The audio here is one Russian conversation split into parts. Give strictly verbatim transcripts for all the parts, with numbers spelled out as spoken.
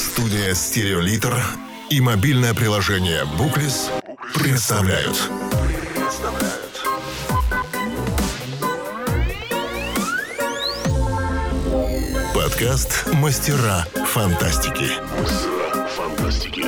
Студия «Стереолитр» и мобильное приложение «Буклис» представляют. Подкаст «Мастера фантастики». Мастера фантастики.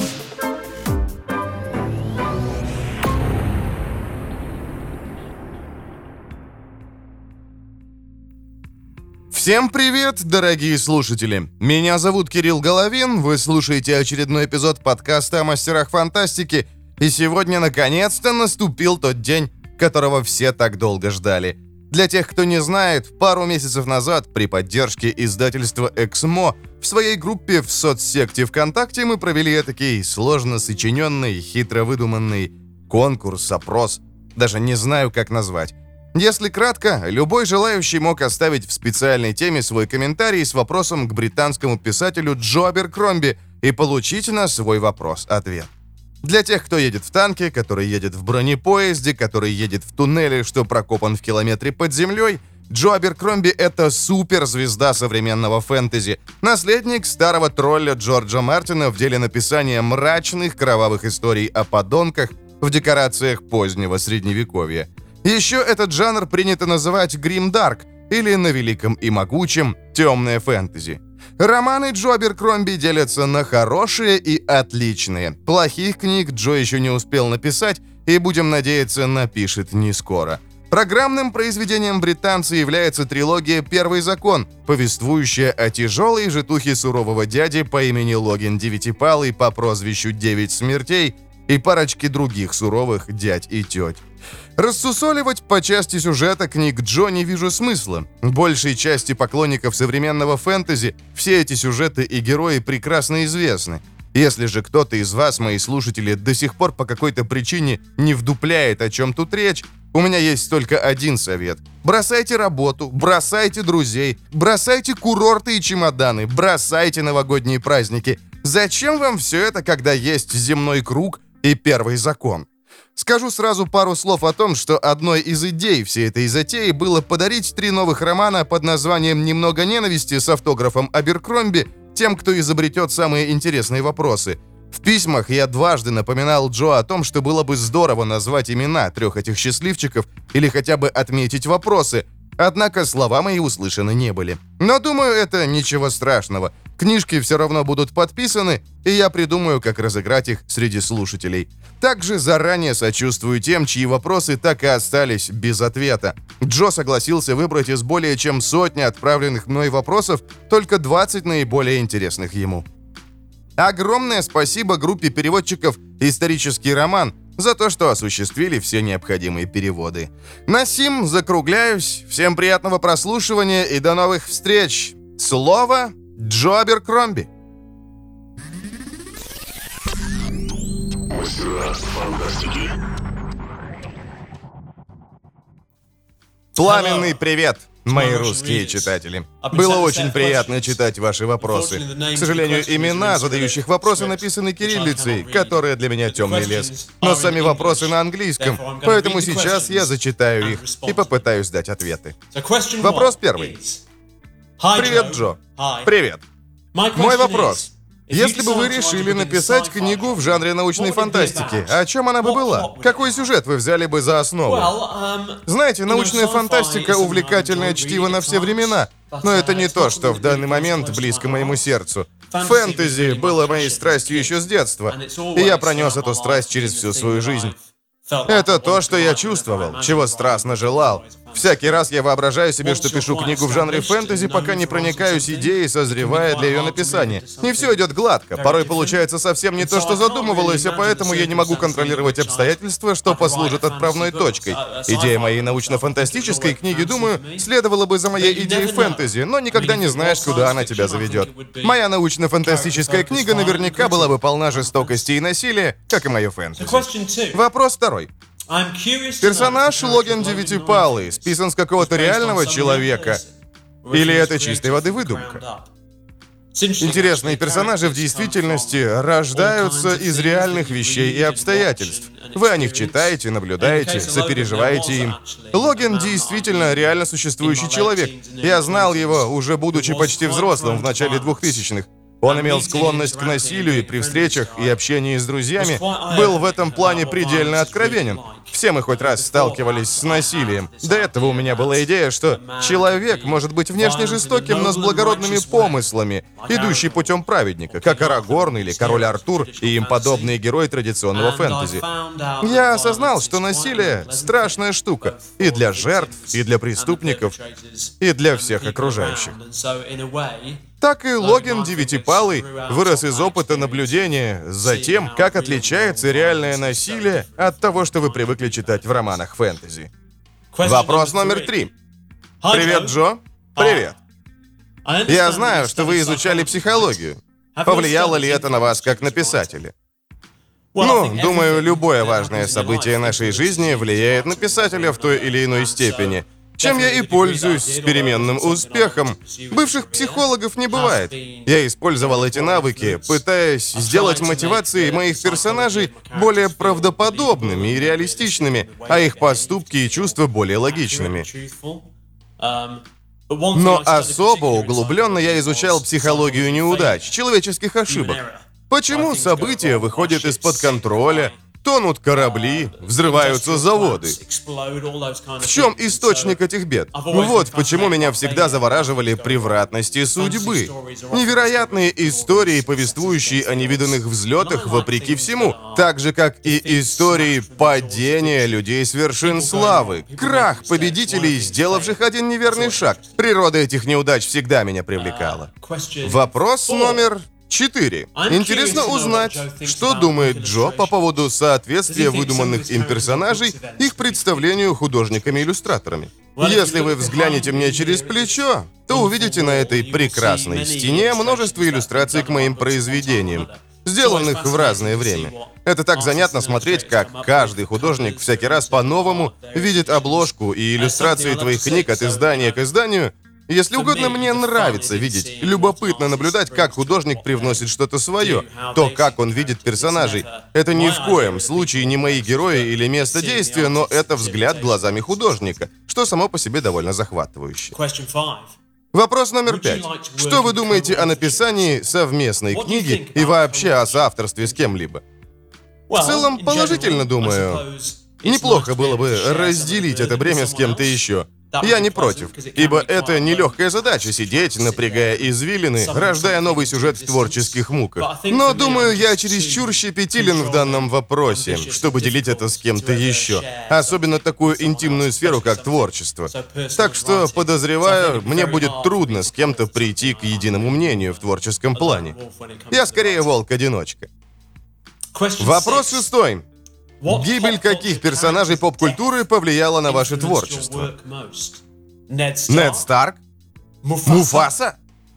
Всем привет, дорогие слушатели! Меня зовут Кирилл Головин, вы слушаете очередной эпизод подкаста о мастерах фантастики, и сегодня наконец-то наступил тот день, которого все так долго ждали. Для тех, кто не знает, пару месяцев назад при поддержке издательства «Эксмо» в своей группе в соцсети ВКонтакте мы провели этакий сложно сочиненный, хитро выдуманный конкурс, опрос, даже не знаю, как назвать. Если кратко, любой желающий мог оставить в специальной теме свой комментарий с вопросом к британскому писателю Джо Аберкромби и получить на свой вопрос ответ. Для тех, кто едет в танке, который едет в бронепоезде, который едет в туннеле, что прокопан в километре под землей, Джо Аберкромби — это суперзвезда современного фэнтези, наследник старого тролля Джорджа Мартина в деле написания мрачных кровавых историй о подонках в декорациях позднего Средневековья. Еще этот жанр принято называть гримдарк, или на великом и могучем темное фэнтези. Романы Джо Аберкромби делятся на хорошие и отличные. Плохих книг Джо еще не успел написать, и, будем надеяться, напишет не скоро. Программным произведением британца является трилогия «Первый закон», повествующая о тяжелой житухе сурового дяди по имени Логин Девятипалый по прозвищу Девять Смертей и парочке других суровых дядь и теть. Рассусоливать по части сюжета книг Джо не вижу смысла. Большей части поклонников современного фэнтези все эти сюжеты и герои прекрасно известны. Если же кто-то из вас, мои слушатели, до сих пор по какой-то причине не вдупляет, о чем тут речь, у меня есть только один совет. Бросайте работу, бросайте друзей, бросайте курорты и чемоданы, бросайте новогодние праздники. Зачем вам все это, когда есть земной круг и первый закон? Скажу сразу пару слов о том, что одной из идей всей этой затеи было подарить три новых романа под названием «Немного ненависти» с автографом Аберкромби тем, кто изобретет самые интересные вопросы. В письмах я дважды напоминал Джо о том, что было бы здорово назвать имена трех этих счастливчиков или хотя бы отметить вопросы, однако слова мои услышаны не были. Но думаю, это ничего страшного. Книжки все равно будут подписаны, и я придумаю, как разыграть их среди слушателей. Также заранее сочувствую тем, чьи вопросы так и остались без ответа. Джо согласился выбрать из более чем сотни отправленных мной вопросов только двадцать наиболее интересных ему. Огромное спасибо группе переводчиков «Исторический роман» за то, что осуществили все необходимые переводы. На сим закругляюсь. Всем приятного прослушивания и до новых встреч. Слово Джо Аберкромби. Мастера фантастики. Пламенный привет, мои русские читатели. Было очень приятно читать ваши вопросы. К сожалению, имена задающих вопросы написаны кириллицей, которая для меня темный лес. Но сами вопросы на английском, поэтому сейчас я зачитаю их и попытаюсь дать ответы. Вопрос первый. Привет, Джо. Привет. Мой вопрос. Если бы вы решили написать книгу в жанре научной фантастики, о чем она бы была? Какой сюжет вы взяли бы за основу? Знаете, научная фантастика — увлекательное чтиво на все времена, но это не то, что в данный момент близко моему сердцу. Фэнтези было моей страстью еще с детства, и я пронес эту страсть через всю свою жизнь. Это то, что я чувствовал, чего страстно желал. Всякий раз я воображаю себе, что пишу книгу в жанре фэнтези, пока не проникаюсь идеей, созревая для ее написания. Не все идет гладко, порой получается совсем не то, что задумывалось, а поэтому я не могу контролировать обстоятельства, что послужит отправной точкой. Идея моей научно-фантастической книги, думаю, следовала бы за моей идеей фэнтези, но никогда не знаешь, куда она тебя заведет. Моя научно-фантастическая книга наверняка была бы полна жестокости и насилия, как и мое фэнтези. Вопрос второй. Персонаж Логин Девятипалый списан с какого-то реального человека? Или это чистой воды выдумка? Интересные персонажи в действительности рождаются из реальных вещей и обстоятельств. Вы о них читаете, наблюдаете, сопереживаете им. Логин действительно реально существующий человек. Я знал его, уже будучи почти взрослым в начале двухтысячных. Он имел склонность к насилию и при встречах и общении с друзьями был в этом плане предельно откровенен. Все мы хоть раз сталкивались с насилием. До этого у меня была идея, что человек может быть внешне жестоким, но с благородными помыслами, идущий путем праведника, как Арагорн или Король Артур и им подобные герои традиционного фэнтези. Я осознал, что насилие — страшная штука и для жертв, и для преступников, и для всех окружающих. Так и Логин Девятипалый вырос из опыта наблюдения за тем, как отличается реальное насилие от того, что вы привыкли читать в романах фэнтези. Вопрос номер три. Привет, Джо. Привет. Я знаю, что вы изучали психологию. Повлияло ли это на вас как на писателя? Ну, думаю, любое важное событие нашей жизни влияет на писателя в той или иной степени, чем я и пользуюсь с переменным успехом. Бывших психологов не бывает. Я использовал эти навыки, пытаясь сделать мотивации моих персонажей более правдоподобными и реалистичными, а их поступки и чувства более логичными. Но особо углубленно я изучал психологию неудач, человеческих ошибок. Почему события выходят из-под контроля, тонут корабли, взрываются заводы? В чем источник этих бед? Вот почему меня всегда завораживали превратности судьбы. Невероятные истории, повествующие о невиданных взлетах вопреки всему, так же, как и истории падения людей с вершин славы, крах победителей, сделавших один неверный шаг. Природа этих неудач всегда меня привлекала. Вопрос номер... Четыре. Интересно узнать, что думает Джо по поводу соответствия выдуманных им персонажей их представлению художниками-иллюстраторами. Если вы взглянете мне через плечо, то увидите на этой прекрасной стене множество иллюстраций к моим произведениям, сделанных в разное время. Это так занятно смотреть, как каждый художник всякий раз по-новому видит обложку и иллюстрации твоих книг от издания к изданию. Если угодно, мне нравится видеть, любопытно наблюдать, как художник привносит что-то свое, то, как он видит персонажей. Это ни в коем случае не мои герои или место действия, но это взгляд глазами художника, что само по себе довольно захватывающе. Вопрос номер пять. Что вы думаете о написании совместной книги и вообще о соавторстве с кем-либо? В целом, положительно думаю. Неплохо было бы разделить это бремя с кем-то еще. Я не против, ибо это нелегкая задача — сидеть, напрягая извилины, рождая новый сюжет в творческих муках. Но, думаю, я чересчур щепетилен в данном вопросе, чтобы делить это с кем-то еще. Особенно такую интимную сферу, как творчество. Так что, подозреваю, мне будет трудно с кем-то прийти к единому мнению в творческом плане. Я скорее волк-одиночка. Вопрос шестой. Гибель каких персонажей поп-культуры повлияла на ваше творчество? Нед Старк? Муфаса?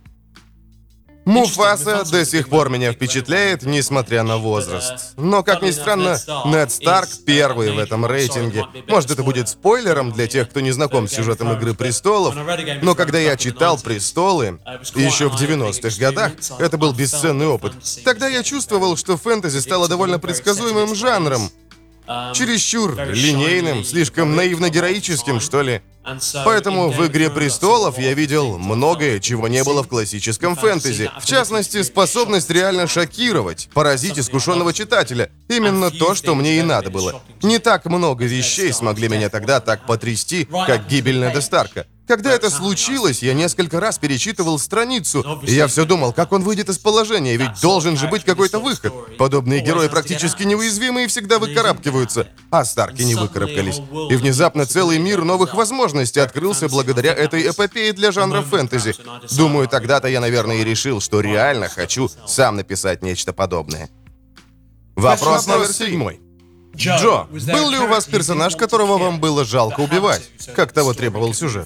Муфаса до сих пор меня впечатляет, несмотря на возраст. Но, как ни странно, Нед Старк первый в этом рейтинге. Может, это будет спойлером для тех, кто не знаком с сюжетом «Игры престолов», но когда я читал «Престолы» еще в девяностых годах, это был бесценный опыт. Тогда я чувствовал, что фэнтези стало довольно предсказуемым жанром. Чересчур линейным, слишком наивно-героическим, что ли. Поэтому в «Игре престолов» я видел многое, чего не было в классическом фэнтези. В частности, способность реально шокировать, поразить искушенного читателя. Именно то, что мне и надо было. Не так много вещей смогли меня тогда так потрясти, как гибель Неда Старка. Когда это случилось, я несколько раз перечитывал страницу, и я все думал, как он выйдет из положения, ведь должен же быть какой-то выход. Подобные герои практически неуязвимы и всегда выкарабкиваются, а Старки не выкарабкались. И внезапно целый мир новых возможностей открылся благодаря этой эпопее для жанра фэнтези. Думаю, тогда-то я, наверное, и решил, что реально хочу сам написать нечто подобное. Вопрос номер седьмой. Джо, был ли у вас персонаж, которого вам было жалко убивать, как того требовал сюжет?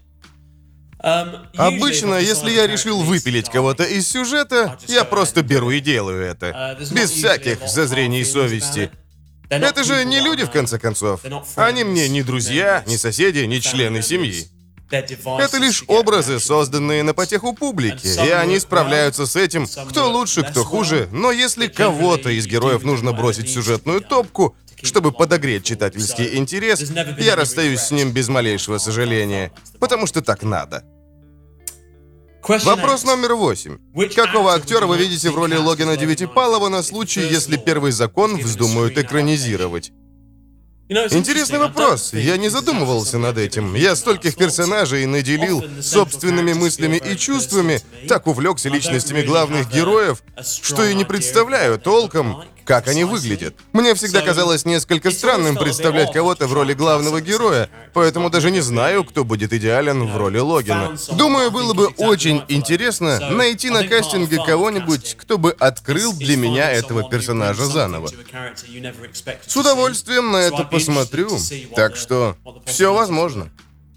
Обычно, если я решил выпилить кого-то из сюжета, я просто беру и делаю это. Без всяких зазрений совести. Это же не люди, в конце концов. Они мне не друзья, не соседи, не члены семьи. Это лишь образы, созданные на потеху публики, и они справляются с этим, кто лучше, кто хуже, но если кого-то из героев нужно бросить в сюжетную топку, чтобы подогреть читательский интерес, я расстаюсь с ним без малейшего сожаления, потому что так надо. Вопрос номер восемь. Какого актера вы видите в роли Логана Девятипалова на случай, если Первый закон вздумают экранизировать? Интересный вопрос. Я не задумывался над этим. Я стольких персонажей наделил собственными мыслями и чувствами, так увлекся личностями главных героев, что и не представляю толком, как они выглядят. Мне всегда казалось несколько странным представлять кого-то в роли главного героя, поэтому даже не знаю, кто будет идеален в роли Логана. Думаю, было бы очень интересно найти на кастинге кого-нибудь, кто бы открыл для меня этого персонажа заново. С удовольствием на это посмотрю, так что все возможно.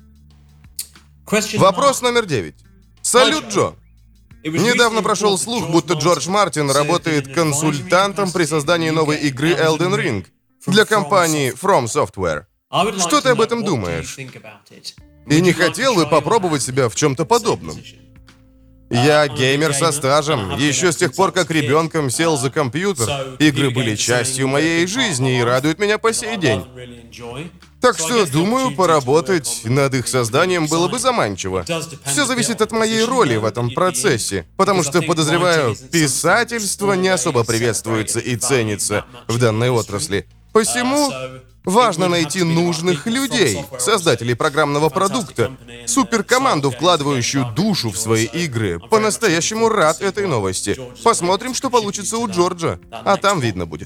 Вопрос номер девять. Салют, Джо. Недавно прошел слух, будто Джордж Мартин работает консультантом при создании новой игры Elden Ring для компании From Software. Что ты об этом думаешь? И не хотел бы попробовать себя в чем-то подобном? Я геймер со стажем. Еще с тех пор, как ребенком сел за компьютер, игры были частью моей жизни и радуют меня по сей день. Так что, думаю, поработать над их созданием было бы заманчиво. Все зависит от моей роли в этом процессе, потому что, подозреваю, писательство не особо приветствуется и ценится в данной отрасли. Посему важно найти нужных людей, создателей программного продукта, суперкоманду, вкладывающую душу в свои игры. По-настоящему рад этой новости. Посмотрим, что получится у Джорджа, а там видно будет.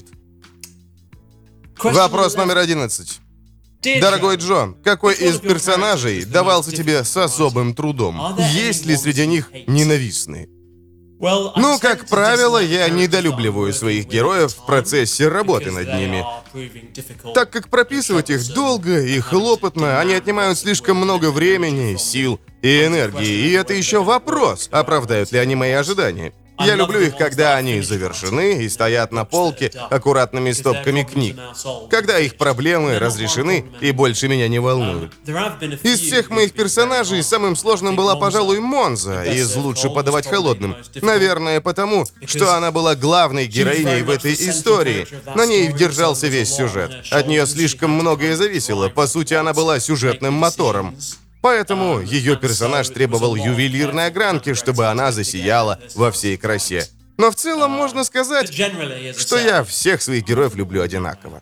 Вопрос номер одиннадцать. Дорогой Джон, какой из персонажей давался тебе с особым трудом? Есть ли среди них ненавистные? Ну, как правило, я недолюбливаю своих героев в процессе работы над ними, так как прописывать их долго и хлопотно, они отнимают слишком много времени, сил и энергии, и это еще вопрос, оправдают ли они мои ожидания. Я люблю их, когда они завершены и стоят на полке аккуратными стопками книг, когда их проблемы разрешены и больше меня не волнуют. Из всех моих персонажей самым сложным была, пожалуй, Монза из «Лучше подавать холодным». Наверное, потому, что она была главной героиней в этой истории. На ней держался весь сюжет. От нее слишком многое зависело. По сути, она была сюжетным мотором. Поэтому ее персонаж требовал ювелирной огранки, чтобы она засияла во всей красе. Но в целом можно сказать, что я всех своих героев люблю одинаково.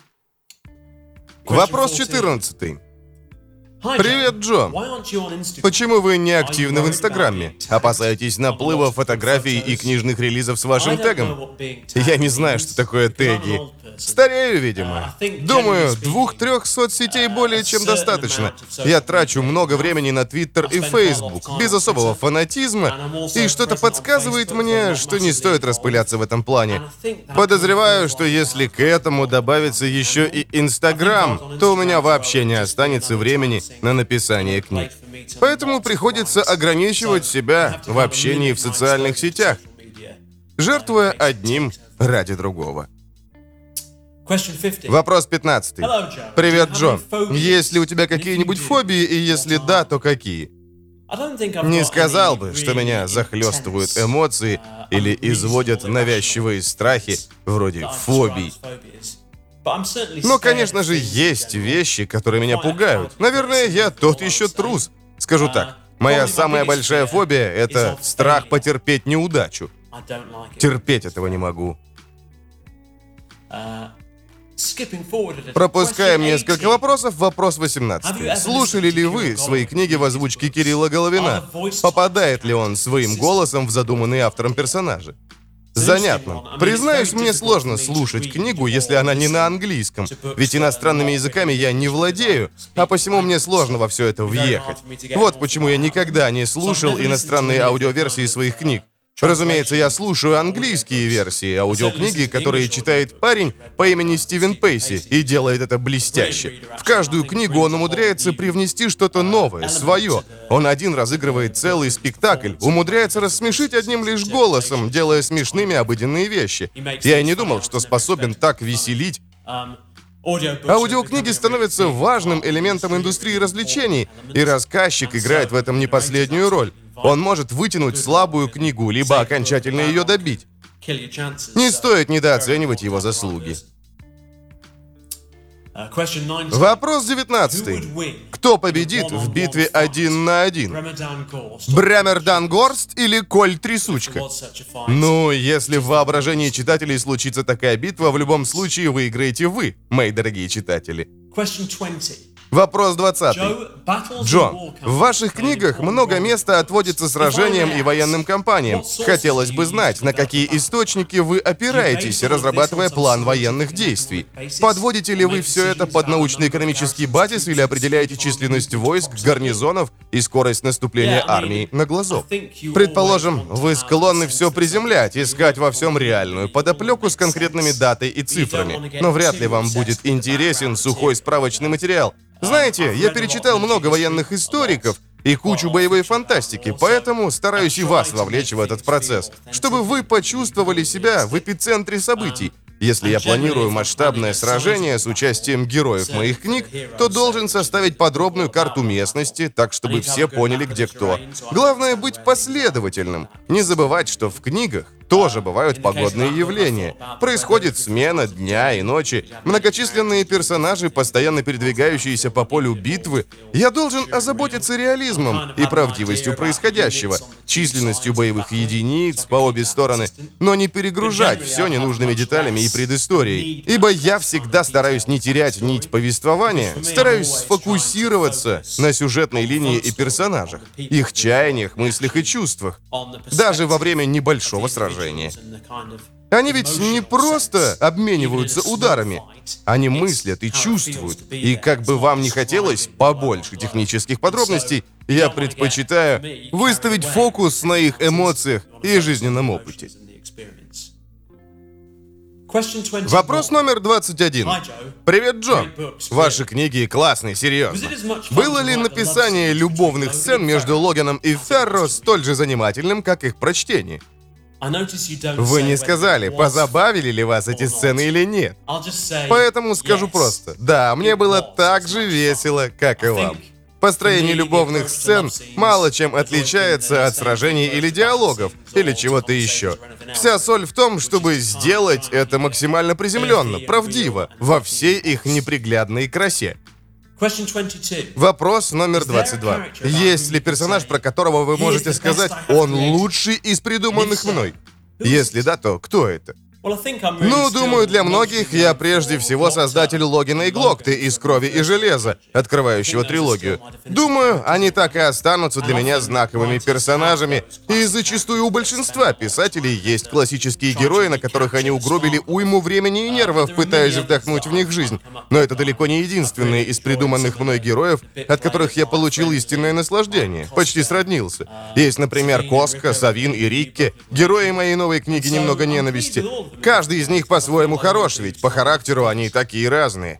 Вопрос четырнадцатый. Привет, Джо. Почему вы не активны в Инстаграме? Опасаетесь наплыва фотографий и книжных релизов с вашим тегом? Я не знаю, что такое теги. Старею, видимо. Думаю, двух-трех соцсетей более чем достаточно. Я трачу много времени на Твиттер и Фейсбук, без особого фанатизма, и что-то подсказывает мне, что не стоит распыляться в этом плане. Подозреваю, что если к этому добавится еще и Инстаграм, то у меня вообще не останется времени на написание книг. Поэтому приходится ограничивать себя в общении в социальных сетях, жертвуя одним ради другого. Вопрос пятнадцатый. Привет, Джо. Есть ли у тебя какие-нибудь фобии, и если да, то какие? Не сказал бы, что меня захлестывают эмоции или изводят навязчивые страхи, вроде фобий. Но, конечно же, есть вещи, которые меня пугают. Наверное, я тот еще трус. Скажу так, моя самая большая фобия — это страх потерпеть неудачу. Терпеть этого не могу. Пропускаем несколько вопросов. Вопрос восемнадцатый. Слушали ли вы свои книги в озвучке Кирилла Головина? Попадает ли он своим голосом в задуманные автором персонажи? Занятно. Признаюсь, мне сложно слушать книгу, если она не на английском, ведь иностранными языками я не владею, а посему мне сложно во все это въехать. Вот почему я никогда не слушал иностранные аудиоверсии своих книг. Разумеется, я слушаю английские версии аудиокниги, которые читает парень по имени Стивен Пейси, и делает это блестяще. В каждую книгу он умудряется привнести что-то новое, свое. Он один разыгрывает целый спектакль, умудряется рассмешить одним лишь голосом, делая смешными обыденные вещи. Я и не думал, что способен так веселить. Аудиокниги становятся важным элементом индустрии развлечений, и рассказчик играет в этом не последнюю роль. Он может вытянуть слабую книгу, либо окончательно ее добить. Не стоит недооценивать его заслуги. Вопрос девятнадцатый. Кто победит в битве один на один? Бремер Дангорст или Коль Трясучка? Ну, если в воображении читателей случится такая битва, в любом случае выиграете вы, мои дорогие читатели. Вопрос двадцатый. Джо, в ваших книгах много места отводится сражениям и военным кампаниям. Хотелось бы знать, на какие источники вы опираетесь, разрабатывая план военных действий. Подводите ли вы все это под научно-экономический базис или определяете численность войск, гарнизонов и скорость наступления армии на глазок? Предположим, вы склонны все приземлять, искать во всем реальную подоплеку с конкретными датой и цифрами. Но вряд ли вам будет интересен сухой справочный материал. Знаете, я перечитал много военных историков и кучу боевой фантастики, поэтому стараюсь и вас вовлечь в этот процесс, чтобы вы почувствовали себя в эпицентре событий. Если я планирую масштабное сражение с участием героев моих книг, то должен составить подробную карту местности, так чтобы все поняли, где кто. Главное быть последовательным. Не забывать, что в книгах тоже бывают погодные явления. Происходит смена дня и ночи, многочисленные персонажи, постоянно передвигающиеся по полю битвы. Я должен озаботиться реализмом и правдивостью происходящего, численностью боевых единиц по обе стороны, но не перегружать все ненужными деталями и предысторией. Ибо я всегда стараюсь не терять нить повествования, стараюсь сфокусироваться на сюжетной линии и персонажах, их чаяниях, мыслях и чувствах, даже во время небольшого сражения. Они ведь не просто обмениваются ударами, они мыслят и чувствуют. И как бы вам ни хотелось побольше технических подробностей, я предпочитаю выставить фокус на их эмоциях и жизненном опыте. Вопрос номер двадцать один. Привет, Джо. Ваши книги классные, серьезно. Было ли написание любовных сцен между Логаном и Ферро столь же занимательным, как их прочтение? Вы не сказали, позабавили ли вас эти сцены или нет. Поэтому скажу просто. Да, мне было так же весело, как и вам. Построение любовных сцен мало чем отличается от сражений или диалогов, или чего-то еще. Вся соль в том, чтобы сделать это максимально приземленно, правдиво, во всей их неприглядной красе. Вопрос номер двадцать два. Есть ли персонаж, про которого вы можете сказать, он лучший из придуманных мной? Если да, то кто это? Ну, думаю, для многих я прежде всего создатель Логина и Глокты из «Крови и железа», открывающего трилогию. Думаю, они так и останутся для меня знаковыми персонажами, и зачастую у большинства писателей есть классические герои, на которых они угробили уйму времени и нервов, пытаясь вдохнуть в них жизнь. Но это далеко не единственные из придуманных мной героев, от которых я получил истинное наслаждение, почти сроднился. Есть, например, Коска, Савин и Рикке, герои моей новой книги «Немного ненависти». Каждый из них по-своему хорош, ведь по характеру они такие разные.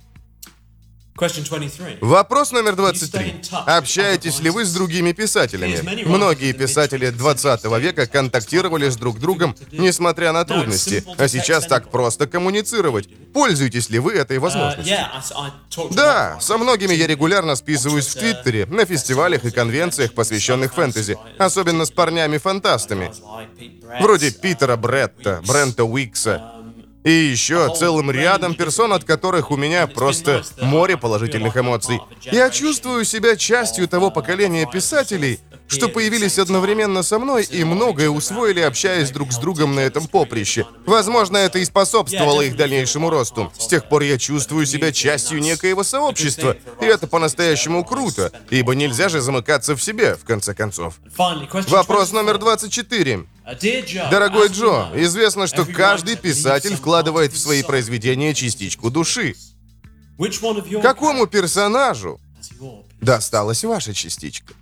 Вопрос номер двадцать три. Общаетесь ли вы с другими писателями? Многие писатели двадцатого века контактировали с друг другом, несмотря на трудности, а сейчас так просто коммуницировать. Пользуетесь ли вы этой возможностью? Да, со многими я регулярно списываюсь в Твиттере, на фестивалях и конвенциях, посвященных фэнтези, особенно с парнями-фантастами, вроде Питера Бретта, Брента Уикса, и еще целым рядом персон, от которых у меня просто море положительных эмоций. Я чувствую себя частью того поколения писателей, что появились одновременно со мной и многое усвоили, общаясь друг с другом на этом поприще. Возможно, это и способствовало их дальнейшему росту. С тех пор я чувствую себя частью некоего сообщества, и это по-настоящему круто, ибо нельзя же замыкаться в себе, в конце концов. Вопрос номер двадцать четыре. Дорогой Джо, известно, что каждый писатель вкладывает в свои произведения частичку души. Какому персонажу досталась ваша частичка?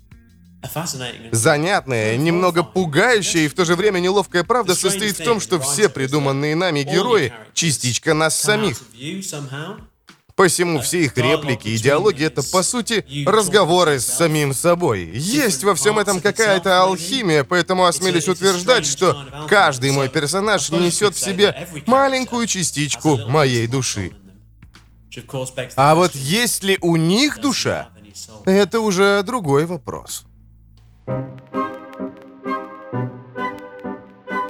Занятная, немного пугающая и в то же время неловкая правда состоит в том, что все придуманные нами герои — частичка нас самих. Посему все их реплики и диалоги — это, по сути, разговоры с самим собой. Есть во всем этом какая-то алхимия, поэтому осмелюсь утверждать, что каждый мой персонаж несет в себе маленькую частичку моей души. А вот есть ли у них душа, это уже другой вопрос.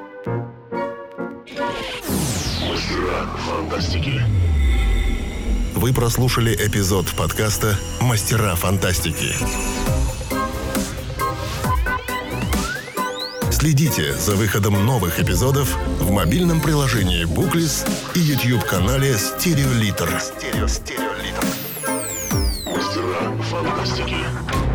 Мастера фантастики. Вы прослушали эпизод подкаста «Мастера фантастики». Следите за выходом новых эпизодов в мобильном приложении Booklist и YouTube-канале Стереолитр. Мастера фантастики.